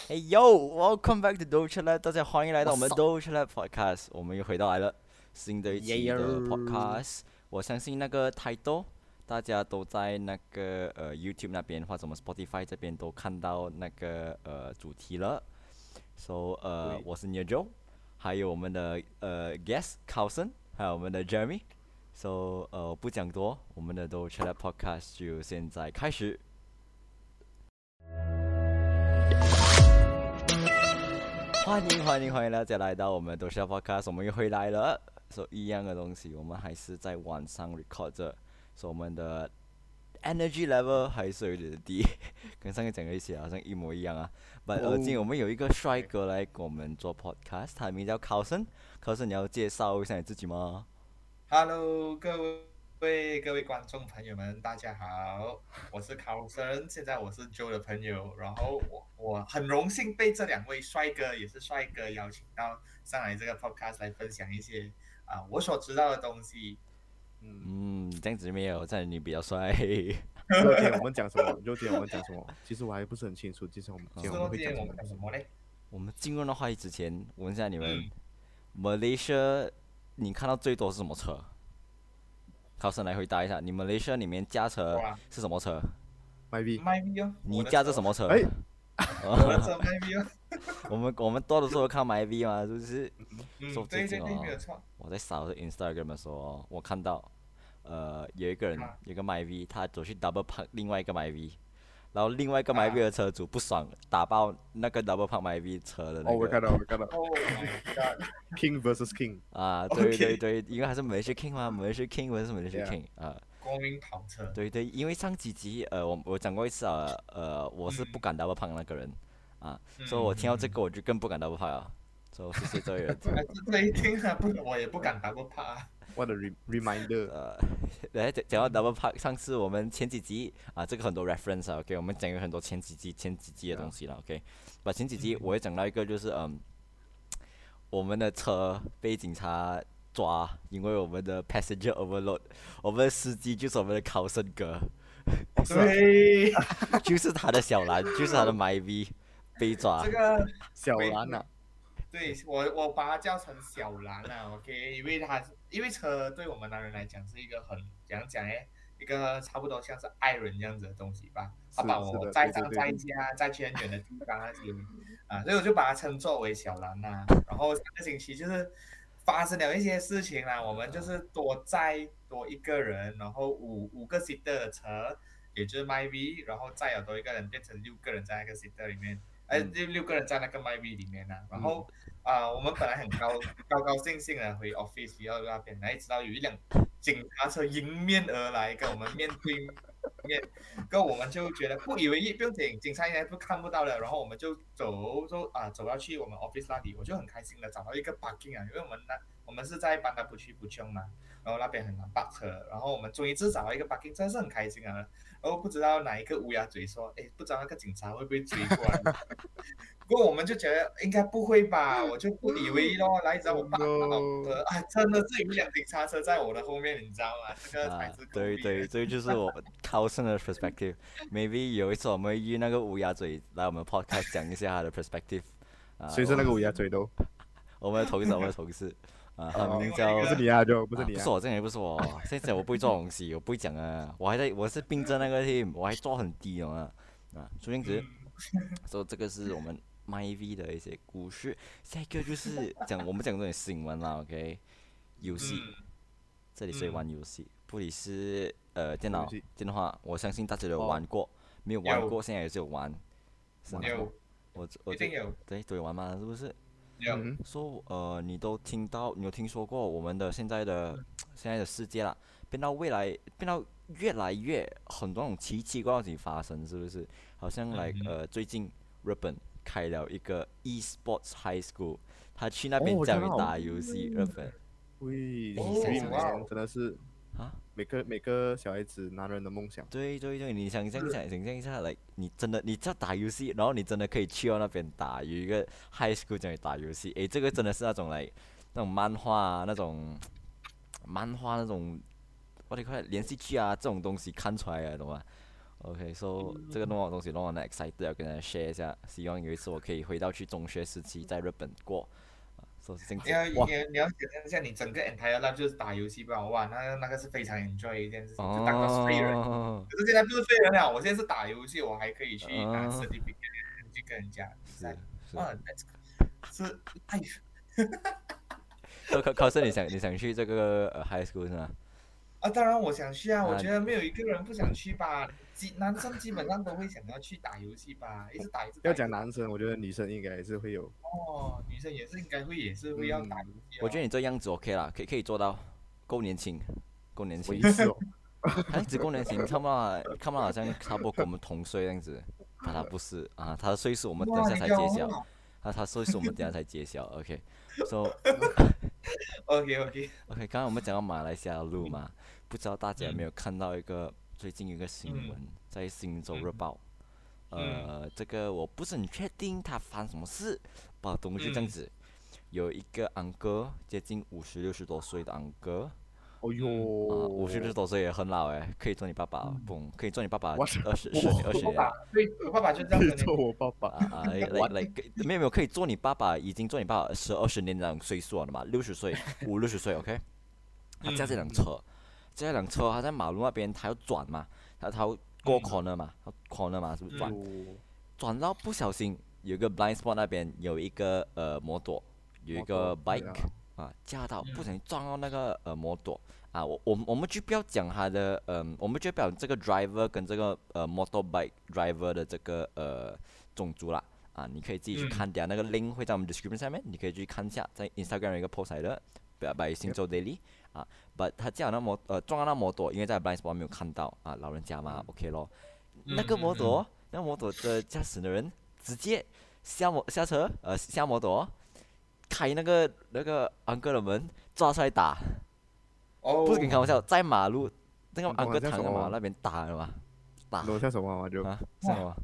Hey yo, welcome back to Doja Lab，大家欢迎来到我们 Doja Lab Podcast，我们又回到来了新的一期的 Podcast。我相信那个 title，大家都在那个YouTube 那边或者我们 Spotify 这边都看到那个主题了。So 我是 Joe， 还有我们的guest Carlson， 还有我们的 Jeremy。So 不讲多，我们的 Doja Lab Podcast 就现在开始。欢迎大家来到我们都是 podcast， 我们又回来了。所以一样的东西，我们还是在晚上 record 着，所以我们的 energy level 还是有点低，跟上个讲的一些好像一模一样啊。But 今天我们有一个帅哥来跟我们做 podcast， 他的名叫 Carlson。Carlson， 你要介绍一下你自己吗 Hello，各位观众朋友们，大家好，我是考生，现在我是 Joe 的朋友，然后我很荣幸被这两位帅哥也是帅哥邀请到上来这个 podcast 来分享一些我所知道的东西。 这样子没有，这样你比较帅。 今天我们讲什么？今天我们讲什么？其实我还不是很清楚。今天我们会讲什么呢？ 我们进入那话题之前，问一下你们，Malaysia， 你看到最多是什么车？考生来回答一下，你Malaysia里面驾车是什么车 ？MyV 哦， 你驾着什么车？ 我的车 MyV 哦。我们多的时候看 MyV 嘛，是不是？ 对，没有错。 我在扫着 Instagram 的时候，我看到，有一个人，有个 MyV， 他走去 double park 另外一个 MyV， 然后另外一个 MyV 的车主不爽，打爆那个 double park MyV 车的那个。 我看到。 Oh my god！King vs King。 对，因为还是Malaysia King 嘛，Malaysia King vs Malaysia King 啊。 国民跑车。 对，因为上几集我讲过一次我是不敢 double park 那个人啊，所以我听到这个我就更不敢 double park 了。所以谢谢这位人。 这一听我也不敢 double park。 What a reminder！ 讲到 double park， 上次我们前几集这个很多 reference 啊 ，OK， 我们讲有很多前几集的东西了 ，OK。把前几集我也讲到一个就是我们的车被警察抓，因为我们的 passenger overload， 我们的司机就是我们的考生哥， 对， 就是他的小蓝，就是他的 MyV 被抓。 这个小蓝啊。 对，我把它叫成小蓝啊 ，OK， 因为车对我们男人来讲是一个很怎样讲呢？一个差不多像是爱人这样子的东西吧。他把我载上载下，载去很远的地方那些所以我就把它称作为小蓝呐。然后上个星期就是发生了一些事情啦，我们就是多载多一个人，然后五个 seater 的车，也就是 MyV， 然后再有多一个人变成6个人在那个 seater 里面。6个人在那个 MyV 里面然后我们本来很高兴的回 office 要那边，哪知道有一辆警察车迎面而来，跟我们面对面，跟我们就觉得不以为意，不用紧，警察应该看不到了，然后我们就走要去我们 office 那里，我就很开心的找到一个 parking 因为我们是在班达不去不穷嘛，然后那边很难park车，然后我们终于找到一个 parking， 真的是很开心啊。然后不知道哪一个乌鸦嘴说，不知道那个警察会不会追过来。不过我们就觉得应该不会吧，我就不以为意咯。来，你知道我爸真的是有一辆警察车在我的后面，你知道吗？这个才是对，这就是我考生的 perspective。Maybe 有一次我们约那个乌鸦嘴来我们 podcast 讲一下他的 perspective。 谁是那个乌鸦嘴都？ 我们的同事。他名叫不是你啊，就不是你啊。 不是我，这也不是我。现在我不会做东西，我不会讲啊。我是并着那个 team， 我还做很低所以这样子，所以这个是我们 MyV 的一些故事。下一个就是我们讲这点新闻啦 ，OK？ 游戏，这里是玩游戏，不理是电脑电话，我相信大家都有玩过，没有玩过现在也是有玩。 有， 我一定有。 对，都有玩嘛，是不是？你有听说过我们的现在的世界啦，变到越来越很多种奇奇怪怪的事情发生，是不是？好像最近日本开了一个 e-sports high school， 他去那边教你打游戏，日本。 喂，真的是每个小孩子男人的梦想。 对，你想象一下你真的你在打游戏，然后你真的可以去到那边打，有一个 high school 教你打游戏，这个真的是那种那种漫画那种what do you call it 连续剧这种东西看出来的，懂吗？ OK，so 这个东西让我很 excited 要跟大家 share 一下，希望有一次我可以回到去中学时期，在日本过，说是这样子。哇， 你要想象一下，你整个 entire life 就是打游戏吧，哇，那个是非常 enjoy 一件事情，就当个废人。可是现在不是废人了，我现在是打游戏，我还可以去拿 certificate 去跟人家比赛。是 life。 考试你想去这个high school 是吗？ 当然我想去啊，我觉得没有一个人不想去吧。男生基本上都会想要去打游戏吧，一直打。 要讲男生，我觉得女生应该也是会有。 女生也是应该也是会要打游戏。 我觉得你这样子 OK 啦，可以做到，够年轻。 我意思哦， 他只够年轻，看不到好像差不多跟我们同岁这样子，但他不是啊，他的岁数我们等下才揭晓。他岁数我们等下才揭晓 ，OK，so OK，刚刚我们讲到马来西亚的路嘛，不知道大家有没有看到最近一个新闻，在《新洲日报》，这个我不是很确定他发生什么事，把东西这样子，有一个安哥接近50、60多岁的安哥。 哦哟 ，50、60多岁也很老哎，可以做你爸爸，可以做你爸爸20年。 对，我爸爸就这样子。 做我爸爸没有，可以做你爸爸，已经做你爸爸10、20年那种岁数了嘛，60岁，50、60岁 ，OK。他驾这辆车，他在马路那边，他要转嘛，他要过 corner 嘛，是不是转到不小心有一个 blind spot 那边有一个摩托，有一个 bike。驾到不小心撞到那个摩托我们就不要讲他的我们就不要讲这个 driver 跟这个motorbike driver 的这个种族啦你可以自己去看掉那个 link 会在我们 description 下面，你可以去看一下，在 Instagram 有一个 post 来的by 新洲 daily but 他驾到撞到那摩托，因为在 blind spot 没有看到老人家嘛，OK 咯，那个摩托的驾驶的人直接下车下摩托。开那个安哥的门，抓出来打。不是跟你开玩笑，在马路那个安哥躺在马路那边打了嘛？打。 像什么就像什么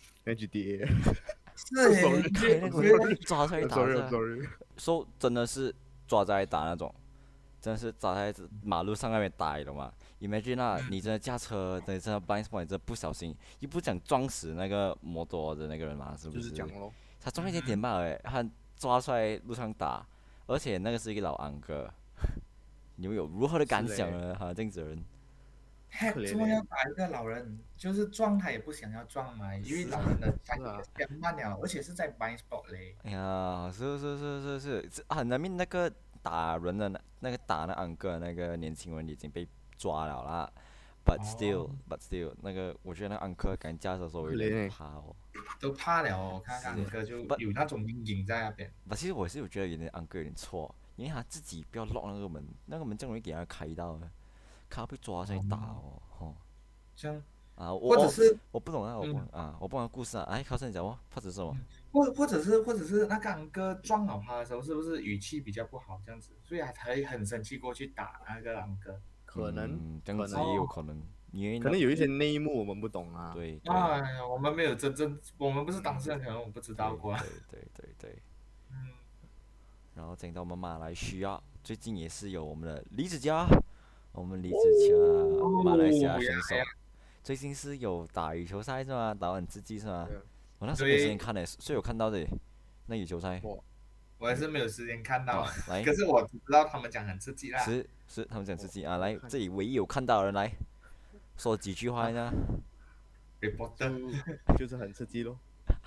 ？GTA。 是开那个门抓出来打。 Sorry。 说真的是抓出来打那种，真的是抓在马路上那边打的嘛 ？Imagine 你真的驾车，真的 blind spot， 你真的不小心，又不想撞死那个摩托的那个人嘛？是不是？ 就是讲咯。 他撞一点罢了，他。抓出来路上打，而且那个是一个老安哥，你们有如何的感想呢？这样子的人， 怎么要打一个老人？就是撞他也不想要撞嘛，因为老人的反应比较慢了，而且是在 blind spot 嘞。 哎呀，是那边那个打人的那个打那安哥那个年轻人已经被抓了啦。But still， 那个我觉得那安哥敢驾车的时候有点怕哦。 都怕了哦，看安哥就有那种阴影在那边。 其实我是觉得有点安哥有点错，因为他自己不要 lock 那个门，那个门这样容易给他开到的，他被抓才打哦。 这样或者是我不懂我不懂故事考生你讲哦，或者是什么？ 或者是那个安哥撞倒他的时候，是不是语气比较不好这样子，所以他才很生气过去打那个安哥？ 可能这样子也有可能。 可能有一些内幕我们不懂对。 我们没有我们不是当事人，可能我们不知道过。 对。然后讲到我们马来西亚，最近也是有我们的李子嘉，马来西亚选手，最近是有打羽球赛是吗？打完刺激是吗？我那时候没有时间看所以有看到的那羽球赛。 我还是没有时间看到， 来， 可是我只知道他们讲很刺激啦。 是他们讲刺激来，这里唯一有看到的人来。说几句话呢？ 就是很刺激咯，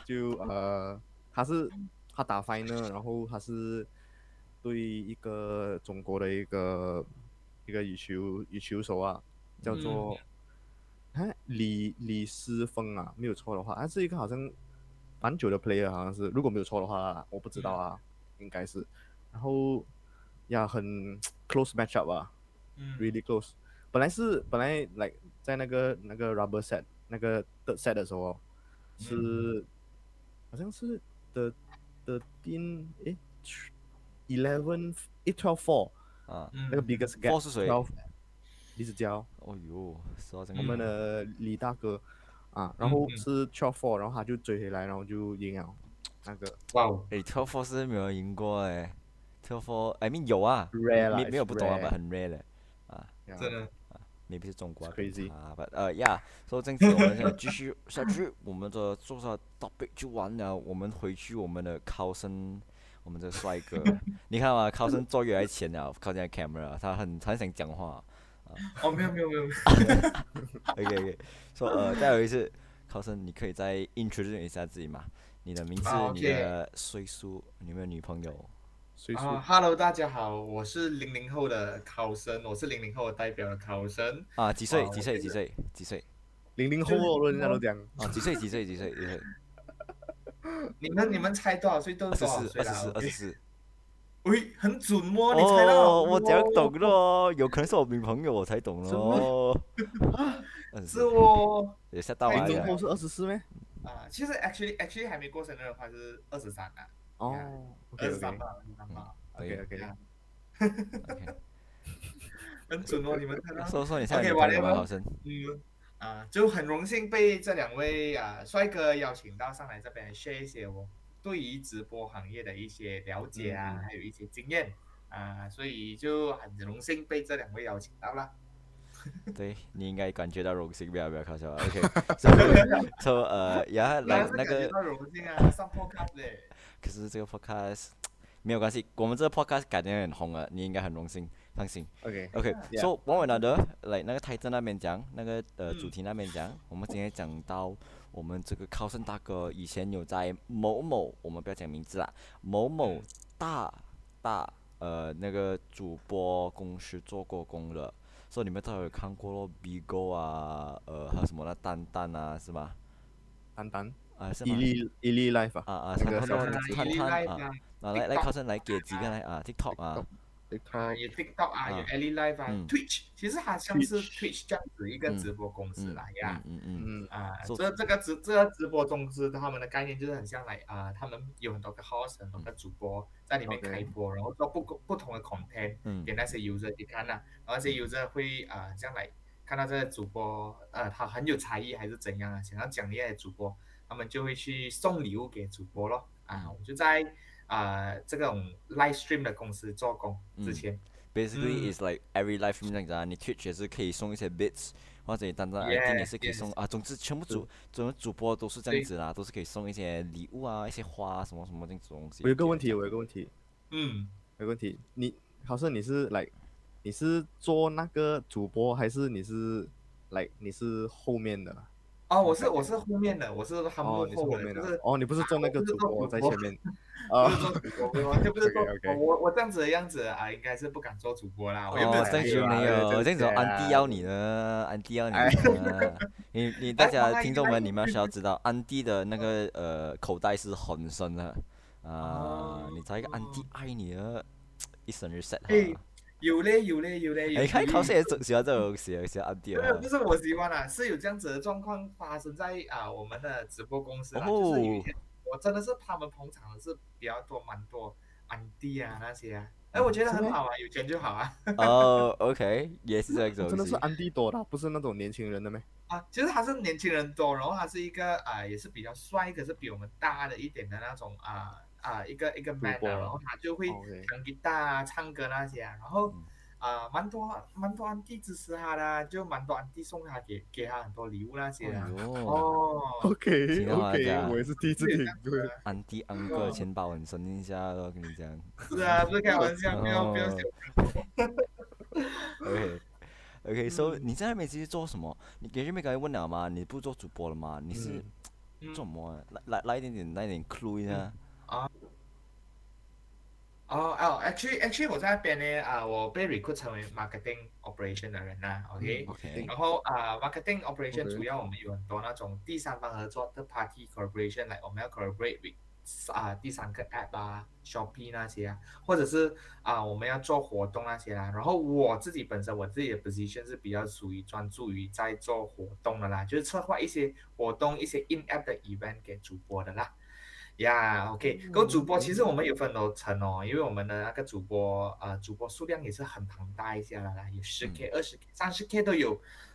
他打 final， 然后他是对一个中国的一个羽球手叫做李诗峰没有错的话，他是一个好像蛮久的 player， 好像是，如果没有错的话我不知道应该是，然后很 close match up really close。本来 like 在那个 rubber set 那个 third set 的时候是好像是 12-4那个 biggest gap 是谁？ 李子嘉。 哦呦， 我们的李大哥然后是 12-4， 然后他就追回来，然后就赢了那个。 哇哦 ，12-4是没有赢过12-4 I mean 有 rare 没有不懂很 rare 的真的。 maybe 是中国 ，crazy。 yeah，所以这样子我们现在继续下去，我们的做啥 topic 就完了，我们回去我们的考生，我们这个帅哥，你看嘛，考生坐越来越前了，靠近 camera，他很想讲话。 哦，没有。 OK，说再有一次，考生你可以再 introduce 一下自己嘛？你的名字、你的岁数，你有没有女朋友？ 岁数 ？Hello，大家好，我是00后的考生，我是00后代表的考生。 几岁 ？00后人家都讲。 几岁？ 你们猜多少岁都多少岁了 ？24。 喂，很准哦，你猜到？ 我讲懂了，有可能是我女朋友我才懂咯。 是哦。 也吓到我了。00后是24咩？ 其实 actually 还没过生日的话是23啊。 哦 ，23吧。 OK。 很准哦，你们看到？ 说你现在女朋友吗，考生？ 就很荣幸被这2位帅哥邀请到上来这边 share 一些我对于直播行业的一些了解啊，还有一些经验所以就很荣幸被这2位邀请到了。 对，你应该感觉到荣幸，不要搞笑 OK， 来那个。 荣幸啊，上 podcast 嘞。 可是这个 podcast 没有关系，我们这个 podcast 改天很红了，你应该很荣幸，放心。OK，so one way another， 来那个台灯那边讲，那个主题那边讲，我们今天讲到我们这个考生大哥以前有在某某，我们不要讲名字啦，某某大那个主播公司做过工的，所以你们都有看过咯 ，Bigo 啊，还有什么那蛋啊，是吗？ 蛋是吗 ？Eli Life 那个来考生来给几个来TikTok 有 TikTok 有 Eli Live Twitch， 其实它像是 Twitch 这样子一个直播公司啦呀。这个直播公司他们的概念就是很像他们有很多个 host， 很多个主播在里面开播，然后做不同的 content 给那些 user 去看然后那些 user 会这样来看到这个主播他很有才艺还是怎样想要奖励的主播，他们就会去送礼物给主播咯我就在这种 live stream 的公司做工之前 ，basically is like every live stream 这样子你 Twitch 也是可以送一些 bits， 或者你单单 ID 也是可以送总之全部主播都是这样子啦，都是可以送一些礼物一些花什么什么这种东西。 我有个问题，有个问题，好像你是做那个主播，还是你是后面的？ 我是后面的，我是他幕后的，就是你不是做那个主播在前面， 不是做主播，完全不是做我这样子的样子应该是不敢做主播啦。我又没有这样子没有，这样子安迪要你呢，你大家听众们，你们需要知道，安迪的那个口袋是很深的你找一个安迪爱你的一生日 set 有嘞。 你看考生也喜欢这种喜欢安迪不是我喜欢是有这样子的状况发生在我们的直播公司就是有一天我真的是他们捧场的是比较多蛮多安迪那些我觉得很好有钱就好 OK 也是这种真的是安迪多的，不是那种年轻人的咩？ 其实他是年轻人多，然后他是一个也是比较帅，可是比我们大的一点的那种一个 man 然后他就会弹吉他唱歌那些然后蛮多安迪支持他的，就蛮多安迪送他给他很多礼物那些 OK， 我也是第一次听。 安迪安哥钱包很深一下咯，跟你讲。 是不是开玩笑，不要笑。 OK，so 你在那边其实做什么？你刚才问了吗？你不做主播了吗？你是做什么？来一点 clue 一下。 actually 我在那边呢我被 recruit 成为 marketing operation 的人OK， 然后marketing operation 主要我们有很多那种第三方合作的 party collaboration， 我们要 collaborate with第三个 app Shopee 那些或者是我们要做活动那些然后我自己的 position 是比较属于专注于在做活动的啦，就是策划一些活动，一些 in app 的 event 给主播的啦。OK， 主播其实我们有分楼层因为我们的那个主播数量也是很庞大一下啦，有10K、20K、30K 都有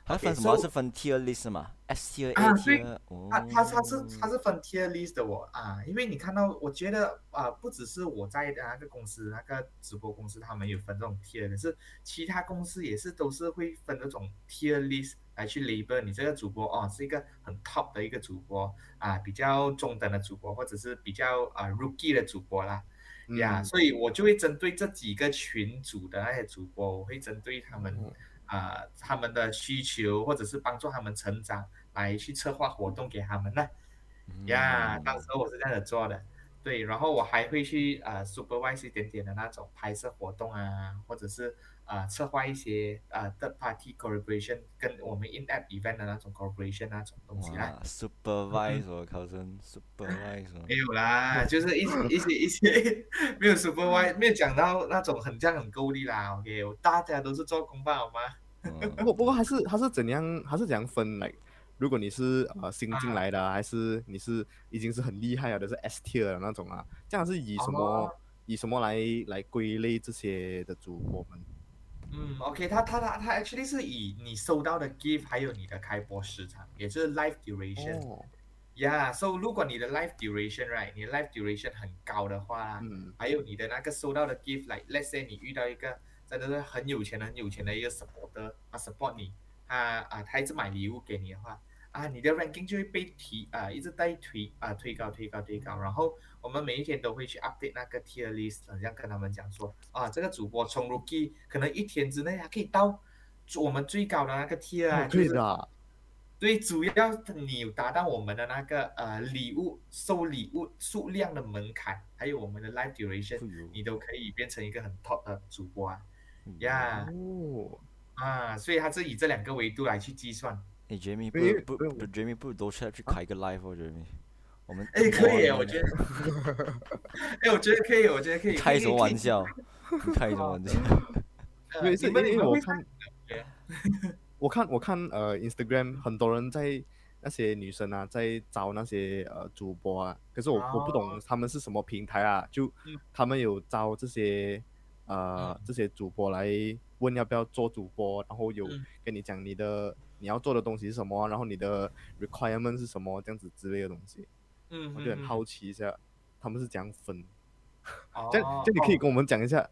它分什么？是分 tier list 嘛？S tier、A tier。 它是分 tier list 的因为你看到，我觉得不只是我在的那个公司那个直播公司，他们有分这种 tier，可是其他公司也是都是会分这种 tier list 来去 label 你这个主播是一个很 top 的一个主播比较中等的主播，或者是比较rookie 的主播啦。所以我就会针对这几个群组的那些主播，我会针对他们他们的需求，或者是帮助他们成长，来去策划活动给他们呢。当时我是这样子做的，对，然后我还会去supervise 一点点的那种拍摄活动或者是策划一些third party collaboration 跟我们 in-app event 的那种 collaboration 那种东西啦。 supervise 我考成 supervise 没有啦，就是一些没有 supervise， 没有讲到那种很够力啦。OK， 大家都是做工吧，好吗？ 不过还是怎样分来？如果你是新进来的，还是你是已经是很厉害的，是 S tier 的那种这样是以什么来归类这些的主播们 ？OK， 他 actually 是以你收到的 gift 还有你的开播时长，也就是 live duration。So 如果你的 live duration right， 你的 live duration 很高的话，还有你的那个收到的 gift，like let's say 你遇到一个真的是很有钱的一个 supporter， support 你，他一直买礼物给你的话，你的 ranking 就会被一直在推高，然后我们每一天都会去 update 那个 tier list， 这样跟他们讲说这个主播从 rookie 可能一天之内可以到我们最高的那个 tier 可以的。 对，主要你有达到我们的那个收礼物数量的门槛，还有我们的 live duration，你都可以变成一个很 top 的主播所以它是以这两个维度来去计算。 Jamie ，Jamie 不如都去开一个 live Jamie。我们可以，我觉得，我觉得可以。 开什么玩笑？开什么玩笑？ 因为我看Instagram 很多人在那些女生在招那些主播可是我不懂他们是什么平台就他们有招这些主播来问要不要做主播，然后有跟你讲你要做的东西是什么，然后你的 requirement 是什么，这样子之类的东西。我就很好奇一下他们是怎样分。这样你可以跟我们讲一下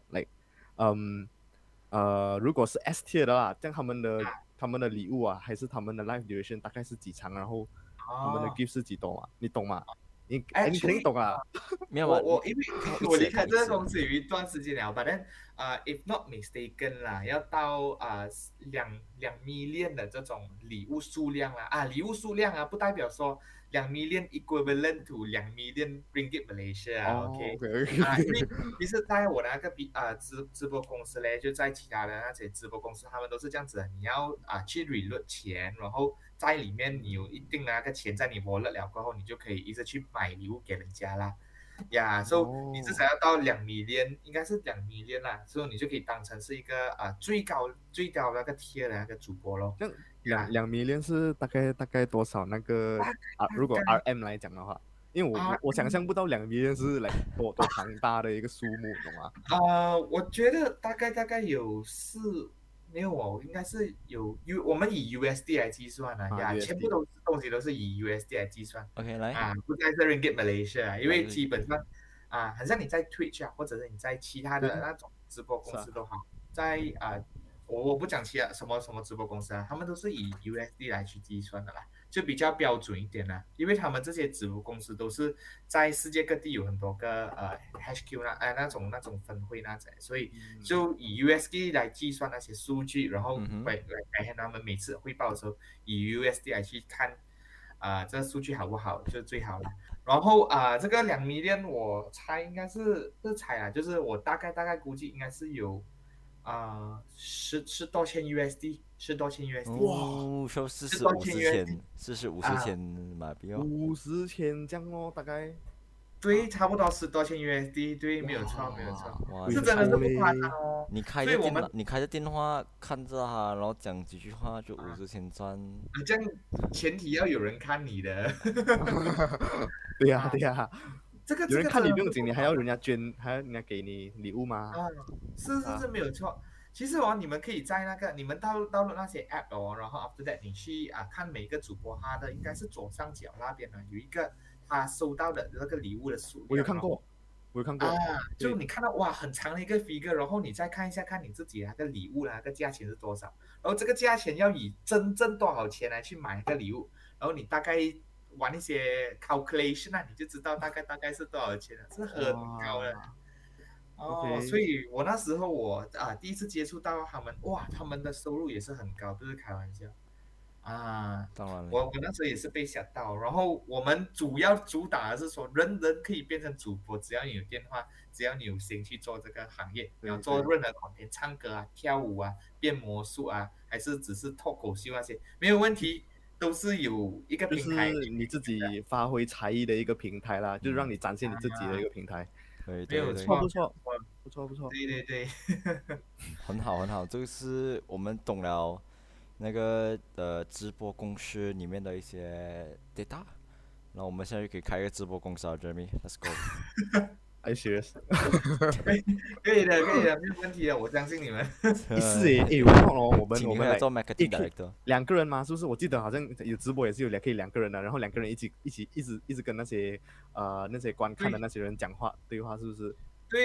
如果是 S tier 的这样他们的礼物还是他们的 live duration 大概是几长，然后他们的 gift 是几多嘛？你懂吗？你肯定懂没有我因为我离开这个公司有一段时间了，but if not mistaken 啦，要到2 million 的这种礼物数量礼物数量不代表说2 million equivalent to 2 million ringgit Malaysia。OK， 因为其实在我那个直播公司嘞，就在其他的那些直播公司，他们都是这样子的，你要去 reload 钱，然后在里面你有一定的那个钱在你 wallet 了过后，你就可以一直去买礼物给人家啦。所以你至少要到2 million， 应该是2 million 啦，所以你就可以当成是一个最高那个 tier 的那个主播咯。 2 million 是大概多少那个如果 RM 来讲的话，因为我想象不到2 million 是多庞大的一个数目，懂吗？ 我觉得大概有没有应该是有我们以 USD 来计算全部东西都是以 USD 来计算。 OK， 来不再是 Ringgit Malaysia， 因为基本上很像你在 Twitch 或者是你在其他的那种直播公司都好，在我不讲其他什么直播公司他们都是以 USD 来去计算的啦，就比较标准一点啦，因为他们这些直播公司都是在世界各地有很多个HQ 那种分会所以就以 USD 来计算那些数据，然后来他们每次汇报的时候以 USD 来去看这个数据好不好，就最好了。然后这个2 million 我猜应该是就是我大概估计应该是有10多千 USD， 10多千 USD。 哇，说40-50千马币 50千这样大概。 对，差不多10多千 USD， 对，没有错，是真的是不夸张你开着电话看着他，然后讲几句话就50千赚。 这样前提要有人看你的。 对呀。 这个有人看你不用紧，你还要人家捐，还要人家给你礼物吗？ 是没有错。 其实哦，你们可以在那个你们到那些 app 哦，然后 after that 你去看每个主播他的应该是左上角那边呢有一个他收到的那个礼物的数量， 我有看过，我有看过。 就你看到哇很长的一个 figure，然后你再看一下看你自己那个礼物那个价钱是多少，然后这个价钱要以真正多少钱来去买一个礼物，然后你大概玩一些 calculation 你就知道大概是多少钱了，是很高的。所以我那时候第一次接触到他们，哇，他们的收入也是很高，不是开玩笑当然了， 我那时候也是被吓到，然后我们主要主打的是说，人人可以变成主播，只要你有电话，只要你有心去做这个行业，你要做任何content，唱歌啊、跳舞啊、变魔术啊，还是只是脱口秀那些，没有问题，都是有一个平台， 就是你自己发挥才艺的一个平台啦，就是让你展现你自己的一个平台。 对没有对， 错， 不错。 对， 很好，这个是我们懂了那个直播公司里面的一些 data。那我们现在就可以开一个直播公司啊，Jeremy，Let's go。 I serious？ 可以的，没有问题的，我相信你们。 我看哦，我们来做 marketing director， 2个人嘛，是不是？我记得好像有直播也是可以2个人的，然后2个人一直跟那些观看的那些人讲话对话，是不是？ 对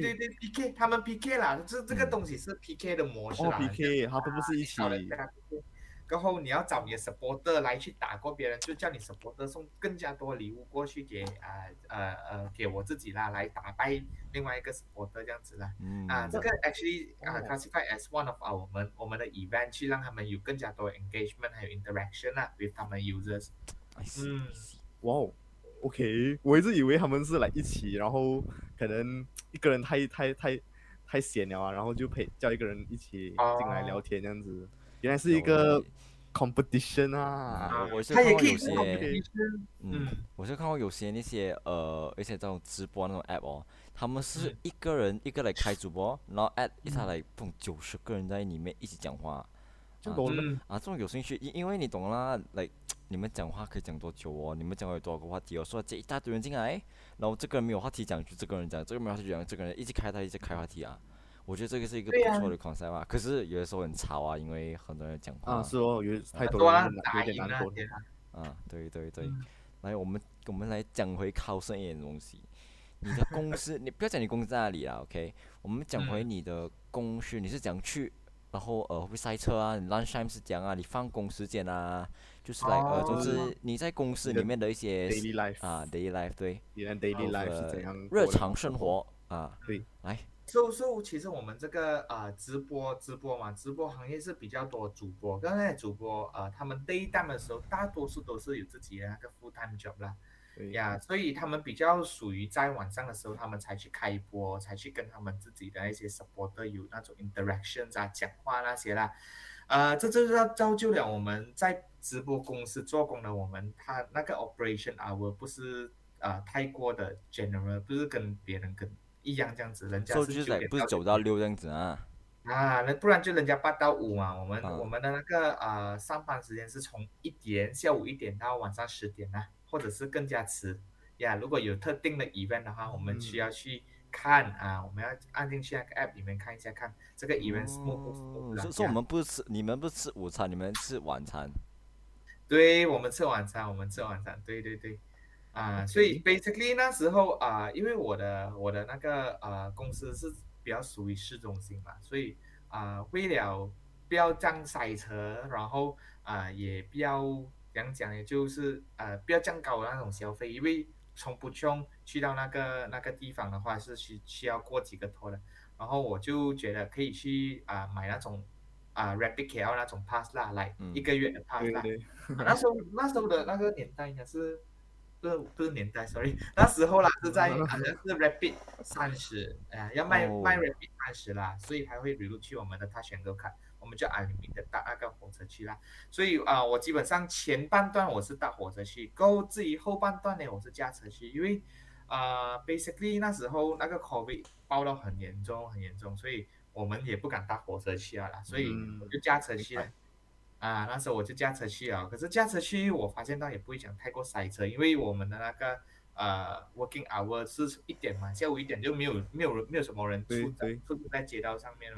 PK 他们 PK 啦，这个东西是 PK 的模式啦。 PK 他都不是一起。 然后你要找你的 supporter 来去打过别人，就叫你 supporter 送更加多礼物过去给我自己啦，来打败另外一个 supporter 这样子啦。这个 actually classified as one of 我们的 event， 去让他们有更加多的 engagement 还有 interaction 啦 with 他们 users。 哇哦 ，OK， 我一直以为他们是来一起，然后可能一个人太闲了啊，然后就叫一个人一起进来聊天这样子。原来是一个 competition 啊！ 我是看过有些，我是看过有些那些一些这种直播那种 app 哦，他们是一个人一个来开主播，然后 add 一下来90个人在里面一起讲话，这种有兴趣，因为你懂啦，like 你们讲话可以讲多久哦？你们讲有多少个话题哦？说接一大堆人进来，然后这个人没有话题讲，就这个人讲，这个没有话题讲，这个人一直开话题啊。我觉得这个是一个不错的 concept 啊，可是有的时候很吵啊，因为很多人讲话。 是哦，有太多人有点难过。 对。来，我们来讲回考生一点东西。你的公司，你不要讲你公司在哪里啦 ，OK？ 我们讲回你的公司，你是讲去，然后会不会塞车啊？你 lunch time 是讲啊？你放工时间啊？就是总之你在公司里面的一些 daily life daily life 对。 你的 daily life 是怎样？ 日常生活对， 来。 其实我们这个直播嘛，直播行业是比较多主播，刚才主播他们 daytime 的时候，大多数都是有自己的那个 full time job 啦，所以他们比较属于在晚上的时候，他们才去开播，才去跟他们自己的那些 supporter 有那种 interactions 讲话那些啦，这就是要造就了我们在直播公司做工的他那个 operation hour 不是太过的 general， 不是跟别人一样这样子，人家是9点不是9到6这样子那不然就人家8到5嘛，我们的那个上班时间是从下午1点到晚上10点或者是更加迟如果有特定的 event 的话，我们需要去看我们要按进去那个 app 里面看一下，看这个 event smooth 不 smooth。 所以你们不吃午餐，你们吃晚餐。 对，我们吃晚餐，对。所以 basically 那时候因为我的那个公司是比较属于市中心嘛，所以为了不要这样塞车，然后也不要怎样讲，也就是不要这样高的那种消费，因为从不穷去到那个地方的话是需要过几个托的，然后我就觉得可以去买那种Rapid KL 那种 pass 啦，来1个月的 pass 啦。那时候的那个年代应该是。不是年代 ，sorry， 那时候啦是在好像是 Rapid 30，要卖 Rapid 30啦，所以才会比如去我们的Touch 'n Go卡，我们就unlimited搭那个火车去啦。所以我基本上前半段我是搭火车去，至于后半段呢我是驾车去，因为basically 那时候那个 COVID 爆到很严重，所以我们也不敢搭火车去啦，所以我就驾车去了。那时候我就驾车去可是驾车去我发现到也不会讲太过塞车，因为我们的那个working hour 是1点嘛，下午1点就没有什么人出在街道上面嘛，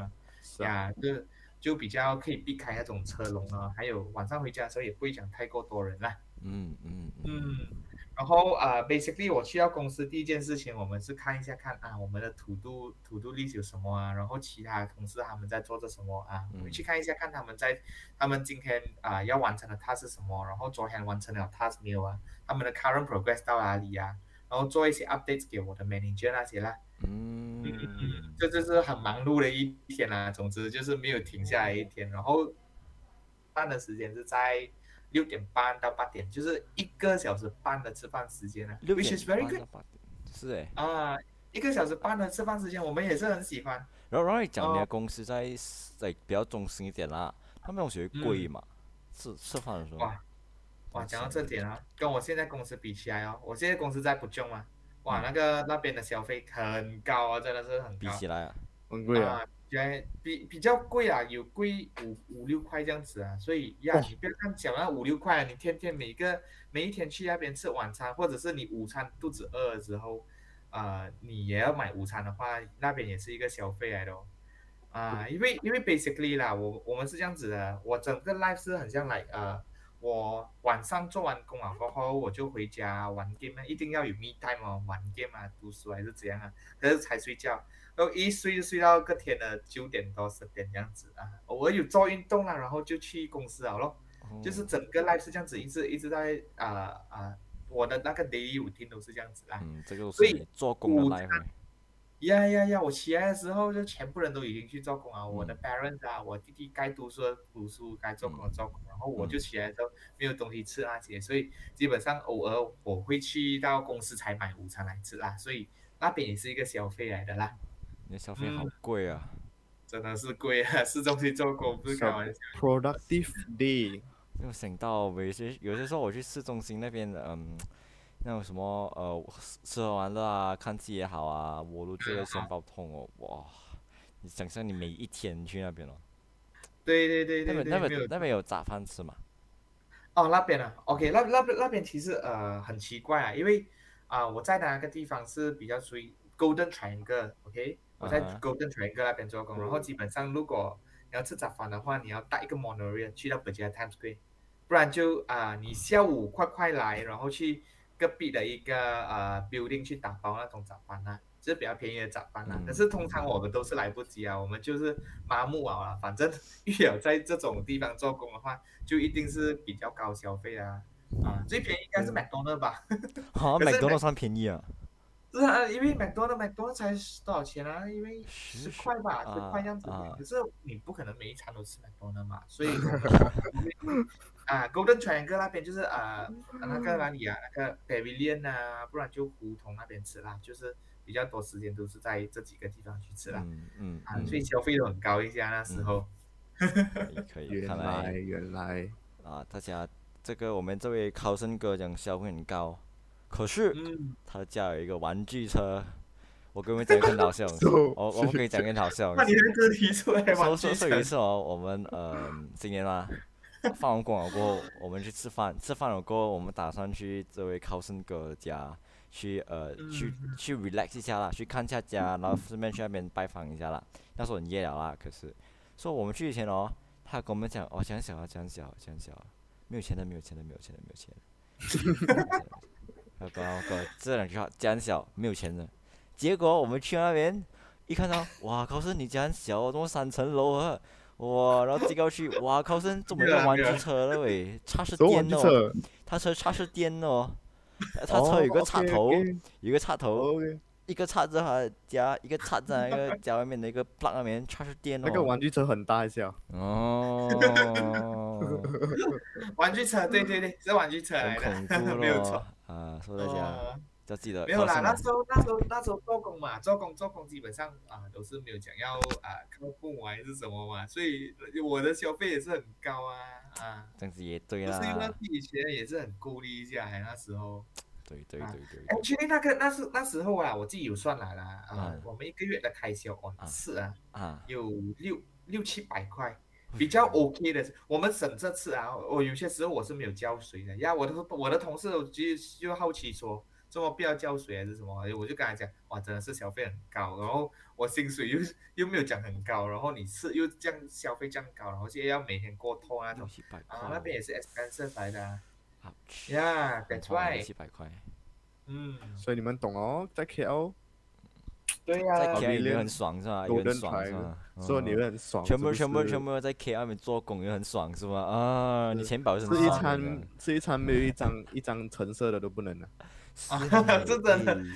呀，就比较可以避开那种车龙啊，还有晚上回家的时候也不会讲太过多人啦。然后basically 我去到公司第一件事情，我们是看一下我们的to do list 有什么啊，然后其他同事他们在做着什么啊，我们去看一下看他们今天要完成的 task 是什么，然后昨天完成了 task 没有啊，他们的 current progress 到哪里啊，然后做一些 updates 给我的 manager 那些啦。这就是很忙碌的一天啦，总之就是没有停下来一天，然后饭的时间是在6点半到8点，就是1个小时半的吃饭时间啊，which is very good。 是诶。 1个小时半的吃饭时间，我们也是很喜欢。 然后你讲你的公司在比较中心一点啦，他们东西会贵嘛？吃饭的时候。 哇，讲到这点啊，跟我现在公司比起来哦，我现在公司在Puchong嘛，哇，那边的消费很高啊，真的是很高。 比起来啊， 很贵啊。 比较贵啊，有贵5-6块这样子啊，所以你不要看小那5-6块，你天天每一天去那边吃晚餐，或者是你午餐肚子饿了之后，你也要买午餐的话，那边也是一个消费来的哦。因为 basically 啦，我们是这样子的，我整个 life 是很像我晚上做完工了过后，我就回家玩 game， 一定要有 me time 哦，玩 game 啊，读书还是怎样啊，可是才睡觉。然后一睡就睡到个天的9点多10点这样子啊，偶尔有做运动啦，然后就去公司了咯。就是整个 life 是这样子，一直在我的那个 daily routine 都是这样子啦。 这个是你做工的 life。 我起来的时候就全部人都已经去做工啊，我的 parents 啊，我弟弟该读书的读书，该做工的做工，然后我就起来的时候没有东西吃那些，所以基本上偶尔我会去到公司才买午餐来吃啦，所以那边也是一个消费来的啦。 你的消费好贵啊！ 真的是贵啊，市中心做工不是开玩笑。 Productive day。 没有想到有些时候我去市中心那边的，那种什么吃喝玩乐啊，看戏也好啊，我都觉得钱包痛哦，哇！你想象你每一天去那边哦。 对， 那边有早饭吃吗？ 那边啊 ，OK，那边其实很奇怪啊，因为我在的那个地方是比较属于 Golden Triangle，OK，我在 Golden Triangle 那边做工，然后基本上如果你要吃早饭的话，你要搭一个 monorail 去到 Berjaya Times Square， 不然就你下午快来，然后去隔壁的一个building 去打包那种早饭啊，是比较便宜的早饭啊。可是通常我们都是来不及啊，我们就是麻木啊，反正遇有在这种地方做工的话，就一定是比较高消费啊。最便宜应该是 McDonald 吧？ 好像 McDonald 算便宜啊。 是啊，因为 McDonald 才多少钱啊？因为10块吧，10块这样子。可是你不可能每一餐都吃 McDonald 嘛，所以Golden Triangle 那边就是那个哪里啊，那个 Pavilion 啊，不然就胡同那边吃啦，就是比较多时间都是在这几个地方去吃啦。所以消费都很高一下那时候。 可以， 原来大家这个我们这位考生哥讲消费很高。可是，他的家有一个玩具车，我跟你们讲一个很好笑，我们可以讲一个很好笑。 那你还真提出来玩具车？ 说一次哦，我们今年嘛，放完工了过后，我们去吃饭，吃饭了过后，我们打算去这位考生哥的家，去 relax 一下啦，去看一下家，然后顺便去那边拜访一下啦。那时候很夜了啦，可是说我们去以前哦，他跟我们讲讲小，没有钱的。这2句话家很小，没有钱的。结果我们去那边一看到，哇，考生你家很小哦，怎么3层楼啊？哇，然后结果去，哇，考生怎么有玩具车了喂？插是电的哦，他车插是电的哦，他车有个插头，有个插头，一个插着他家，一个插在那个家外面的一个 plug 那边，插是电哦。 那个玩具车很大一下。 玩具车，对，是玩具车来的， 很恐怖没有错。 说大家要记得。 没有啦，那时候做工嘛，做工基本上都是没有讲要靠父母还是什么嘛，所以我的消费也是很高啊。 这样子也对啦。 就是因为自己钱也是很顾虑一下，那时候。 对。 确定那时候我自己有算来了我们1个月的开销次有600-700块，比较 OK 的。我们省这次我有些时候我是没有交水的呀。我的同事就好奇说， 这么不要浇水还是什么？我就跟他讲，哇，真的是消费很高，然后我薪水又没有讲很高，然后你是又这样消费这样高，然后现在要每天过透那种那边也是 expensive 来的啊。Yeah，that's why。 700块。 所以你们懂哦，在 KL。 对呀， 在 KL 也很爽是吧？也很爽是吧？ 所以你会很爽。 全部在 KL 那边做工也很爽是吧？啊，你钱包是很爽。 吃一餐没有一张橙色的都不能了。 是真的。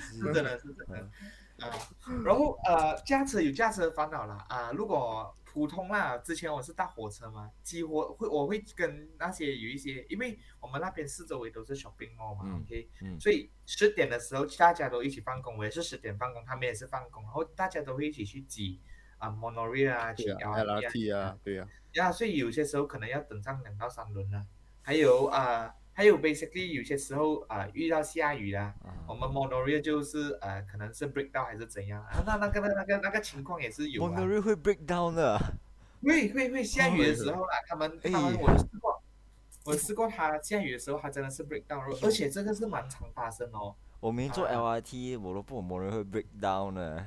然后驾车有驾车的烦恼啦如果普通啦，之前我是搭火车嘛，几乎我会跟那些有一些，因为我们那边四周围都是 shopping mall 嘛，OK，所以10点的时候大家都一起放工，我也是10点放工，他们也是放工，然后大家都会一起去挤monorail 啊，去 LRT 啊，对呀，所以有些时候可能要等上2到3轮了，还有 basically 有些时候遇到下雨啦，我们 monorail 就是可能是 break down 还是怎样那个情况也是有 monorail 会 break down 的。 会下雨的时候啦，他们我试过他下雨的时候，他真的是 break down， 而且这个是蛮常发生哦。 我没坐 LRT， 我都不懂 monorail 会 break down 的。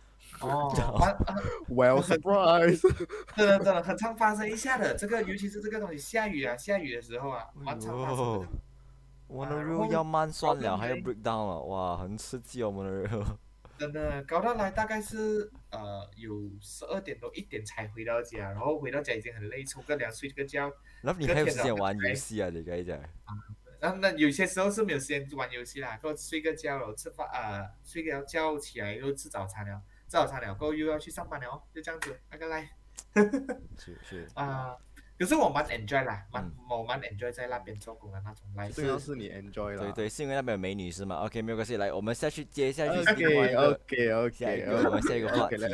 Well surprise， 真的很常发生一下的，这个尤其是这个东西下雨的时候蛮常发生的。 monorail 要慢算了，还要 break down 了，哇，很刺激哦 monorail。 真的搞到来大概是有12点多1点才回到家，然后回到家已经很累，冲个凉睡个觉。 那你还有时间玩游戏啊？你跟你讲。 那有些时候是没有时间玩游戏啦，过后睡个觉了，吃饭睡个觉起来又吃早餐了，过后又要去上班了就这样子那个来。 是可是我蛮 enjoy 啦，我蛮 enjoy 在那边做工的那种 life。 这个是你 enjoy 啦。 对，是因为那边有美女是吗 ？OK， 没有关系，来，我们接下去另外一个 OK， 我们下一个话题。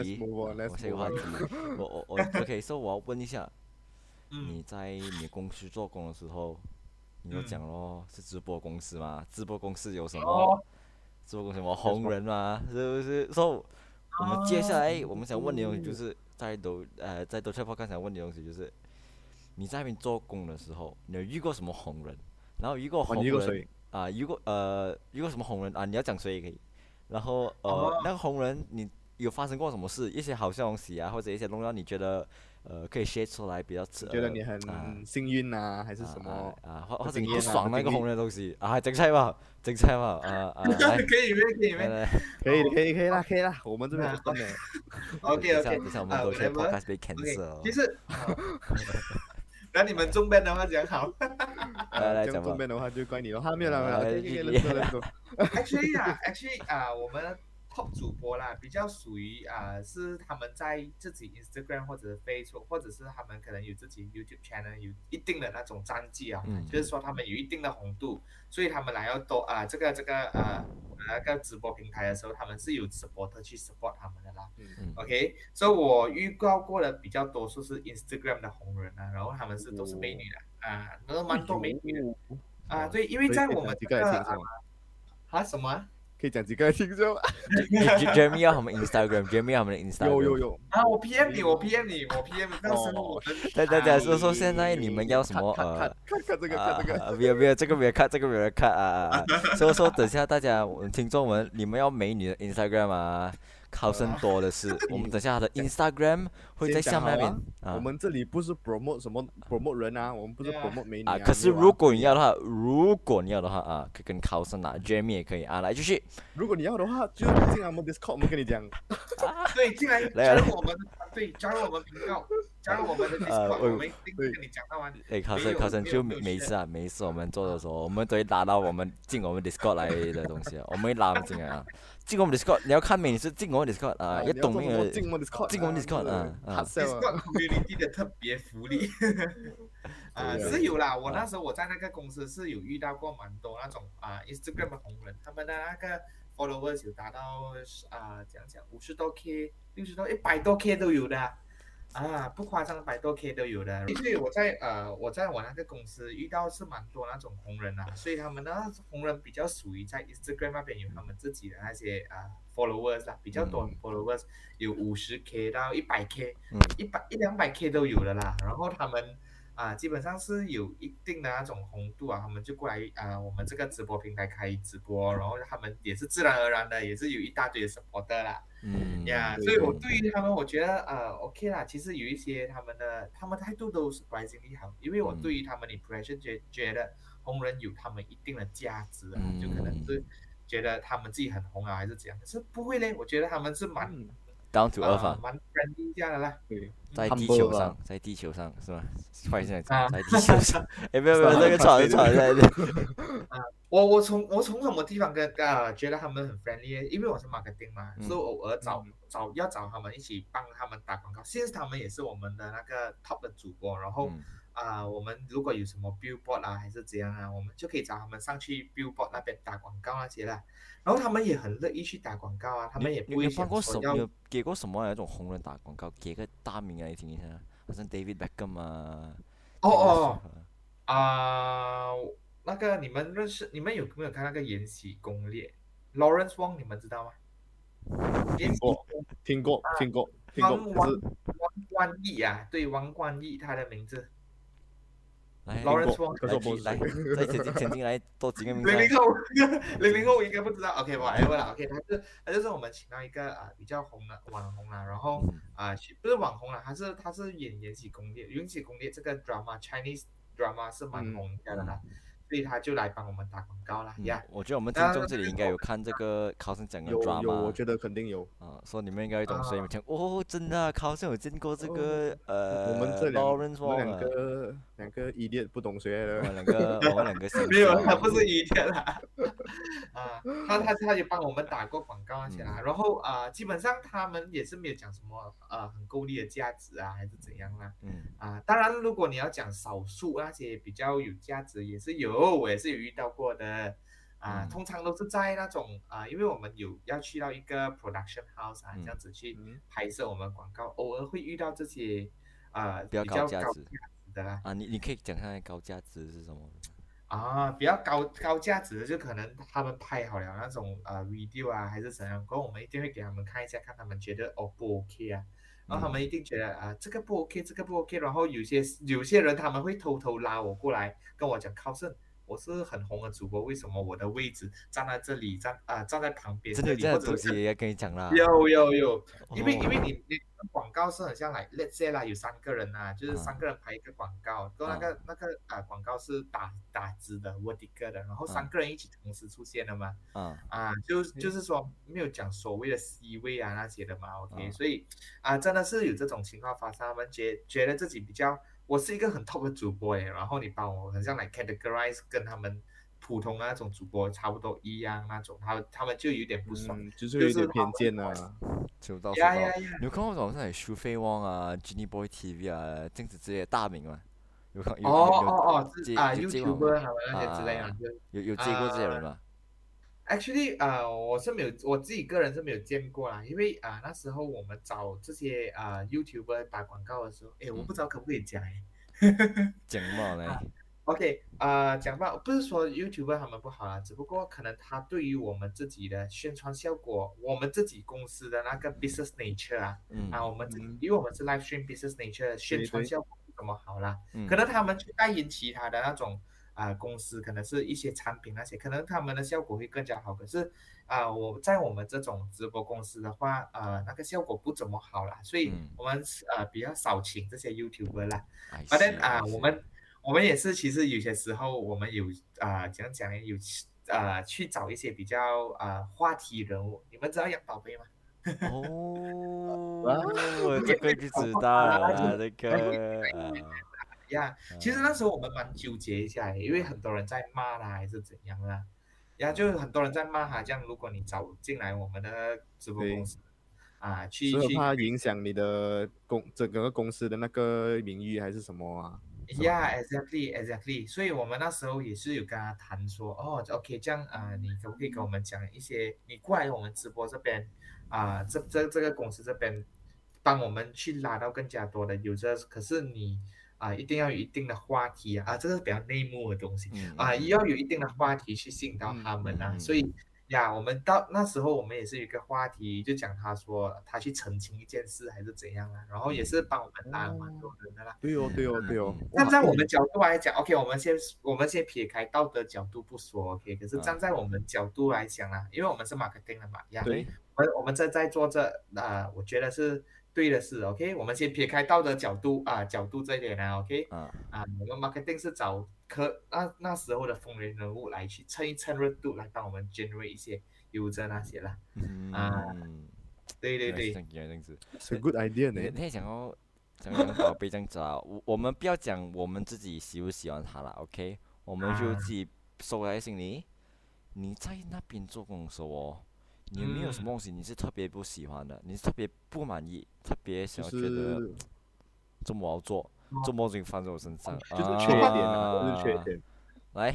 我 OK， 所以我要问一下，你在你公司做工的时候，你就讲咯，是直播公司嘛？直播公司有什么？直播公司有什么红人嘛？是不是？所以我们接下来我们想问的东西就是在都车podcast想问的东西就是。你在那边做工的时候，你有遇过什么红人？然后遇过红人遇过什么红人啊？你要讲谁也可以。然后那个红人你有发生过什么事？一些好笑东西啊，或者一些东西你觉得可以 share 出来比较觉得你很幸运啊，还是什么或者你不爽那个红人的东西整菜嘛可以啦，我们这边不分的。 OK， 等下我们都去 podcast 被 cancel。 其实。那你们中边的话讲好， 来讲中边的话就怪你了，没有了。 Actually， 我们 top 主播啦，比较属于是他们在自己 Instagram 或者 Facebook， 或者是他们可能有自己 YouTube channel 有一定的那种战绩就是说他们有一定的红度，所以他们来要多这个那个直播平台的时候，他们是有 supporter 去 support 他们的啦。OK， 所以我预告过的比较多数是 Instagram 的红人然后他们都是美女的都蛮多美女的对，因为在我们这个什么可以讲几个来听说。 Jeremy 要他们 Instagram，Jeremy 要他们的 Instagram。 有我 PM 你，到时候我对，所以说现在你们要什么看这个没有这个没有看，这个没有人看所以说等下大家听众们，你们要美女的 Instagram考生多的是，我们等下他的 Instagram 会在下面那边我们这里不是 promote 什么 promote 人我们不是 promote 美女可是如果你要的话，可以跟考生Jeremy 也可以来继续。 如果你要的话，就进来我们 Discord， 我们跟你讲。 对，进来加入我们的团队，加入我们频道，加入我们的 Discord， 我们一定跟你讲到完。 考生就每一次我们做的时候，我们都会拉到我们进我们 Discord 来的东西我们会拉进来进我们 Discord， 你要看美女是进我们 Discord 要懂那个进我们 Discord Discord community 的特别福利是有啦。我那时候我在那个公司是有遇到过蛮多那种Instagram 的红人，他们的那个 followers 有达到讲50多 K、60多、100多 K 都有的不夸张，100多 K 都有的。因为我在我那个公司遇到是蛮多那种红人所以他们的红人比较属于在 Instagram 那边有他们自己的那些followers 比较多 followers 有50K 到100K，100、200K 都有的啦。然后他们基本上是有一定的那种红度啊，他们就过来我们这个直播平台开直播，然后他们也是自然而然的，也是有一大堆的 supporter 啦。所以我对于他们，我觉得OK 啦。其实有一些他们态度都 surprisingly 好，因为我对于他们的 impression 觉得红人有他们一定的价值啊，就可能是觉得他们自己很红啊，还是怎样，可是不会嘞，我觉得他们是蛮 down to earth 蛮 friendly 这样的啦。 对， 在地球上，在地球上是吗？快现在在地球上，哎，没有，这个吵在这。 我从什么地方觉得他们很 friendly？ 因为我是 marketing 嘛，所以偶尔要找他们一起帮他们打广告。现在他们也是我们的那个 top 的主播，然后我们如果有什么 billboard 啊还是怎样啊，我们就可以找他们上去 billboard 那边打广告那些啦。然后他们也很乐意去打广告啊，他们也不会想说要。 你有给过什么那种红人打广告？给个大名来听一下，好像 David Beckham 啊。 那个你们你们有没有看那个《延禧攻略》？Lawrence Wong 你们知道吗？ 听过。 王冠毅啊，对，王冠毅他的名字。 Lawrence Wong 来，再请进来多几个名字。 00后应该不知道 ，OK， whatever 啦 ，OK， 他就是我们请到一个比较红的网红啦，然后不是网红啦，他是演《延禧攻略》，《延禧攻略》这个 Chinese drama 是蛮红的啦。所以他就来帮我们打广告啦。 我觉得我们听众这里应该有看这个考生讲的 drama。 有，我觉得肯定有。 所以你们应该懂，所以你们讲真的啊，考生有见过这个我们这两个 idiot 不懂谁的。 我们两个没有，他不是 idiot 啦。他也帮我们打过广告那些啦。然后基本上他们也是没有讲什么很够力的价值啊，还是怎样啦。当然如果你要讲少数那些比较有价值也是有。我也是有遇到过的通常都是在那种因为我们要去到一个 production house 这样子去拍摄我们广告，偶尔会遇到这些比较高价值的啦。 你可以讲看高价值是什么？ 比较高价值的就可能他们拍好了那种video 啊还是怎样，然后我们一定会给他们看一下，看他们觉得不 OK 啊。然后他们一定觉得这个不 OK， 这个不 OK， 然后有些人他们会偷偷拉我过来跟我讲，考生，我是很红的主播，为什么我的位置站在这里，站在旁边这里，这样的东西也要跟你讲啦。 有，因为你广告是很像来 let's say 啦，有3个人就是3个人拍一个广告，然后那个广告是打直的 vertical 的，然后3个人一起同时出现了嘛。就是说没有讲所谓的 C 位那些的嘛 ，OK，所以真的是有这种情况发生，他们觉得自己比较。我是一个很 top 的主播然后你把我很像来 categorize 跟他们普通的那种主播差不多一样那种，他们就有点不爽， 就是有点偏见啊。 收到。你有看过网上有苏菲汪啊、Jenny Boy TV 啊这样子之类的大名吗？有 YouTuber 他们那些之类的。 有接过这些人吗 ？Actually，我是没有，我自己个人是没有见过啦，因为那时候我们找这些YouTuber 打广告的时候，我不知道可不可以讲讲嘛呢 ？OK，讲吧，不是说 YouTuber 他们不好啦，只不过可能他对于我们自己的宣传效果，我们自己公司的那个 business nature 我们因为我们是 live stream business nature 的宣传效果不怎么好啦，可能他们去代言其他的那种。公司可能是一些产品那些，可能他们的效果会更加好。可是我在我们这种直播公司的话，那个效果不怎么好啦，所以我们比较少请这些 YouTuber 啦。But then 我们也是，其实有些时候我们有怎样讲呢？有去找一些比较话题人物。你们知道杨宝贝吗？ 这个就知道了，这个。 其实那时候我们蛮纠结一下因为很多人在骂他还是怎样啦，就很多人在骂他，这样如果你找进来我们的直播公司去怕影响你的整个公司的那个名誉还是什么啊 ？exactly， 所以我们那时候也是有跟他谈说OK 这样你可不可以跟我们讲一些，你过来我们直播这边这个公司这边帮我们去拉到更加多的 user， 可是你一定要有一定的话题这个是比较内幕的东西要有一定的话题去吸引到他们所以呀，我们到那时候我们也是有一个话题，就讲他说他去澄清一件事还是怎样啊，然后也是帮我们打了蛮多人的啦。 对哦，对哦，对哦。 站在我们角度来讲，OK，我们先撇开道德角度不说，OK，可是站在我们角度来讲啊，因为我们是 marketing 的嘛，呀， 对， 我们在做这我觉得是对的事，OK，我们先撇开道德角度这一点呢，OK，我们 marketing 是找那时候的风云人物来去蹭一蹭热度，来帮我们 generate 一些 user 那些啦，对对对， 这样子， 是 good idea 呢。 你想要宝贝这样子啊，我们不要讲我们自己喜不喜欢他啦 ，OK， 我们就自己收在心里。你在那边做工的时候哦，你有没有什么东西你是特别不喜欢的？你是特别不满意，特别想要觉得这么好做，这么事情放在我身上， 就是缺点啊，就是缺点。 来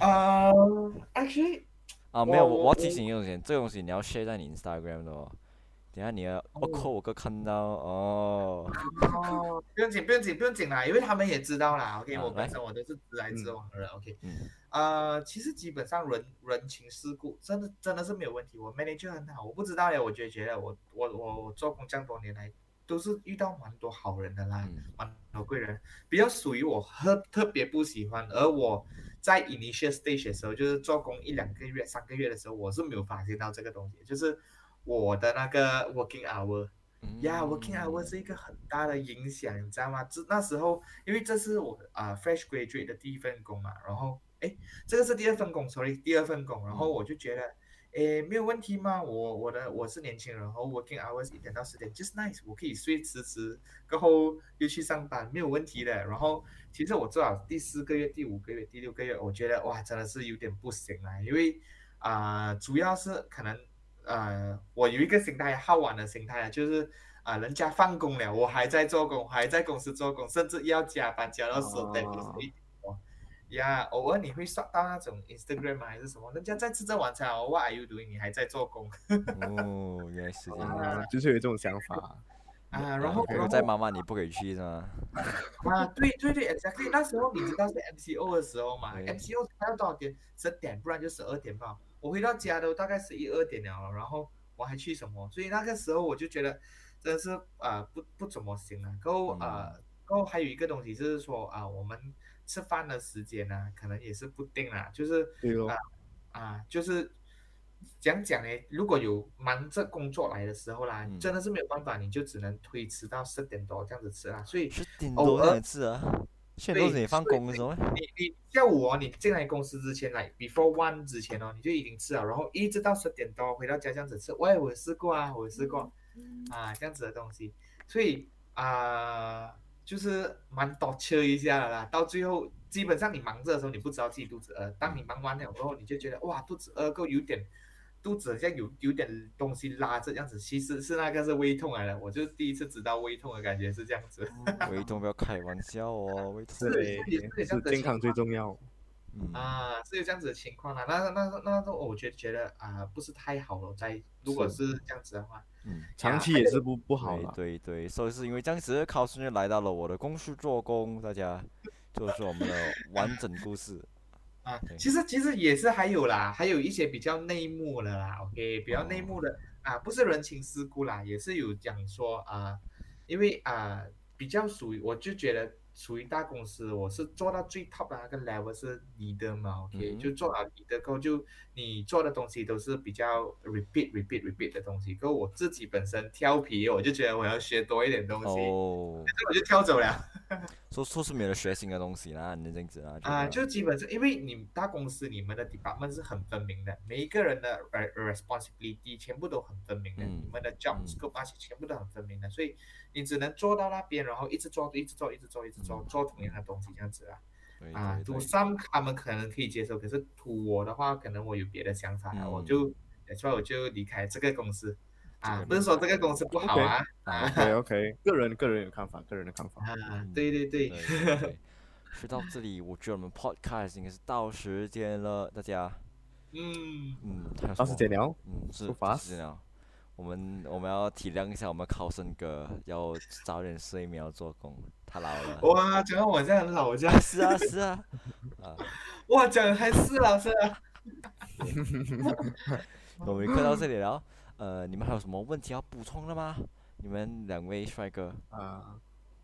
，actually， 没有，我要提醒一个东西，这个东西你要 share 在你 Instagram 的哦。等下你的我哥看到哦。 不用紧啦，因为他们也知道啦。OK， 我本身我都是直来直往的人。OK，其实基本上人情世故真的是没有问题。我 manager 很好，我不知道嘞，我觉得我做工这样多年来都是遇到蛮多好人的啦，蛮多贵人。比较属于我特别不喜欢，而我在 initial stage 的时候，就是做工1-2个月、3个月的时候，我是没有发现到这个东西，就是我的那个 working hour。working hour 是一个很大的影响，你知道吗？那时候，因为这是我fresh graduate 的第一份工嘛，然后这个是第二份工，然后我就觉得，没有问题嘛，我是年轻人，然后 working hours 1点到10点 just nice， 我可以睡迟，过后又去上班，没有问题的。然后其实我做好第4个月、第5个月、第6个月，我觉得哇，真的是有点不行啦，因为主要是可能。我有一个心态，好玩的心态就是人家放工了，我还在做工，还在公司做工，甚至要加班加到10点11点呀，偶尔你会刷到那种 Instagram 还是什么，人家在吃着晚餐，What are you doing？ 你还在做工。 原来是这样， 就是有这种想法然后在妈妈你不可以去是吗？ 对 exactly， 那时候你知道是 MCO 的时候嘛，MCO 开到多少点？10点，不然就12点吧。我回到家都大概11、12点了，然后我还去什么？所以那个时候我就觉得真的是不怎么行了。然后还有一个东西就是说我们吃饭的时间呢，可能也是不定啦，就是就是讲呢，如果有忙着工作来的时候啦，真的是没有办法，你就只能推迟到10点多这样子吃啦。所以 10点多这样吃啊？现在都是你放工的时候。 你下午你进来公司之前来 before 1之前你就已经吃了，然后一直到10点多回到家这样子吃。我有试过这样子的东西，所以就是蛮多吃一下的啦。到最后基本上你忙着的时候，你不知道自己肚子饿，当你忙完了之后，你就觉得哇肚子饿够有点。肚子好像有点东西拉着这样子，其实是那个是胃痛来的，我就第一次知道胃痛的感觉是这样子。 胃痛不要开玩笑哦，胃痛是健康最重要。 是有这样子的情况啦。那我觉得不是太好了，如果是这样子的话， 长期也是不好了。 对，所以是因为这样子，考生就来到了我的公司做工，大家就是我们的完整故事。 其实也是还有啦，还有一些比较内幕的啦 ，OK， 比较内幕的不是人情世故啦，也是有讲说因为比较属于，我就觉得属于大公司，我是做到最 top 的那个 level 是 leader 嘛 ，OK，就做到 leader 过后，就你做的东西都是比较 repeat 的东西，过后我自己本身挑皮，我就觉得我要学多一点东西，我就跳走了。 说是没有学新的东西啦，你这样子就基本上，因为你大公司你们的 department 是很分明的，每一个人的 responsibility 全部都很分明的，你们的 job scope 那些全部都很分明的，所以你只能做到那边，然后一直做同样的东西这样子啦。to some 他们可能可以接受，可是 to 我的话，可能我有别的想法了，我就离开这个公司。不是说这个公司不好 OK， 个人有看法，个人的看法。 对。 说到这里，我觉得我们 podcast 应该是到时间了，大家。 到时间了。 是到时间了。我们要体谅一下我们考生哥，要早点睡眠，要做工，他老了。 哇，讲到我这样很老这样。 是啊。 哇，讲还是老师啊。 我们看到这里了，你们还有什么问题要补充的吗？你们两位帅哥啊，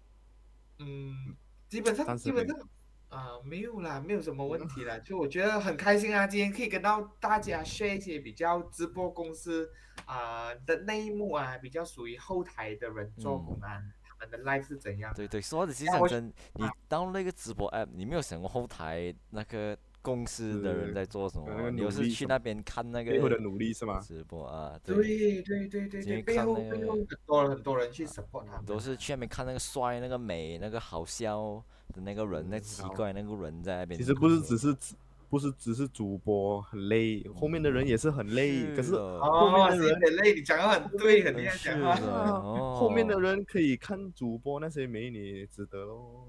基本上暂时没有啦，没有什么问题啦。就我觉得很开心啊，今天可以跟到大家 share 一些比较直播公司的内幕啊，比较属于后台的人做工啊，他们的 life 是怎样的。 对对，说的其实讲真，你当那个直播 app，你没有想过后台那个公司的人在做什么？你有是去那边看那个背后的努力是吗？ 直播啊？ 对，背后很多人去 support 他们， 都是去那边看那个帅、那个美、那个好笑的那个人，那奇怪那个人在那边。 其实不是只是主播很累，后面的人也是很累。可是后面的人很累，你讲的很对，很厉害讲话。 后面的人可以看主播那些美女，值得咯。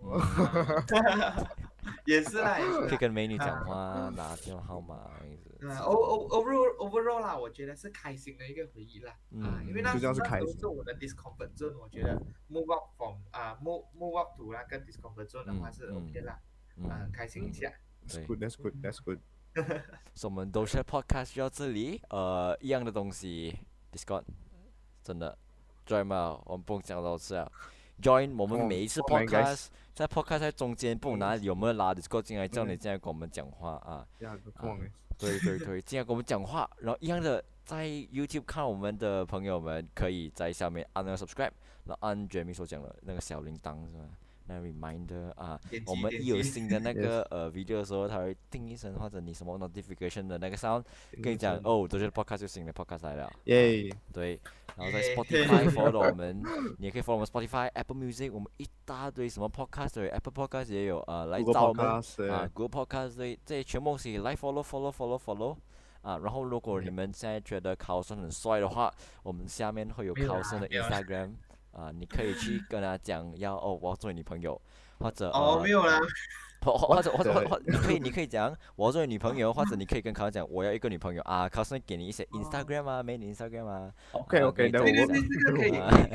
也是啦， 可以跟美女讲话，拿电话号码。 overall 啦，我觉得是开心的一个回忆啦。因为那时候是我的 discomfort zone，我觉得 move up from move up to 那个 discomfort zone 的话是 OK 啦，开心一下。 That's good. 所以我们都是 podcast 就到这里，一样的东西 ，Discord， 真的 ，join 嘛，我们不用讲多次啊 ，join 我们每一次 podcast， 在 podcast 在中间，不管哪里有没有拉 Discord 进来，叫你进来跟我们讲话啊，对，进来跟我们讲话，然后一样的，在 YouTube 看我们的朋友们，可以在下面按那个 subscribe， 然后按 Jamie 所讲的那个小铃铛是吧？那 reminder 啊，我们一有新的那个video 的时候，它会叮一声，或者你什么 notification 的那个 sound， 跟你讲哦，都是 podcast 就新的 podcast 来了。 耶！ 对，然后在 Spotify follow 我们，你也可以 follow 我们 Spotify、Apple Music， 我们一大堆什么 podcast 都有 ，Apple Podcast 也有来找我们Google Podcast 这些全部是来 follow 啊，然后如果你们现在觉得考生很帅的话，我们下面会有考生的 Instagram。你可以去跟他讲我要做你女朋友，或者没有啦， 或者你可以讲我要做你女朋友，或者你可以跟考生讲我要一个女朋友啊，考生给你一些 Instagram 啊，美女 Instagram 啊。 OK， 对，这个可以。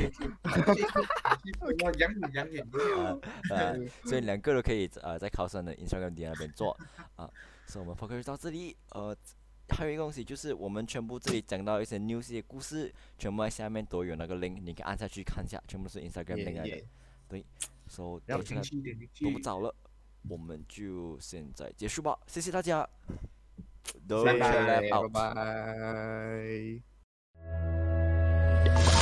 我养眼所以两个都可以在考生的 Instagram 底下那边做啊。所以我们 podcast 到这里还有一个东西就是我们全部这里讲到一些 news 的故事，全部在下面都有那个 link， 你可以按下去看一下，全部是 Instagram link 来的。对，所以都不早了，我们就现在结束吧，谢谢大家， 拜拜。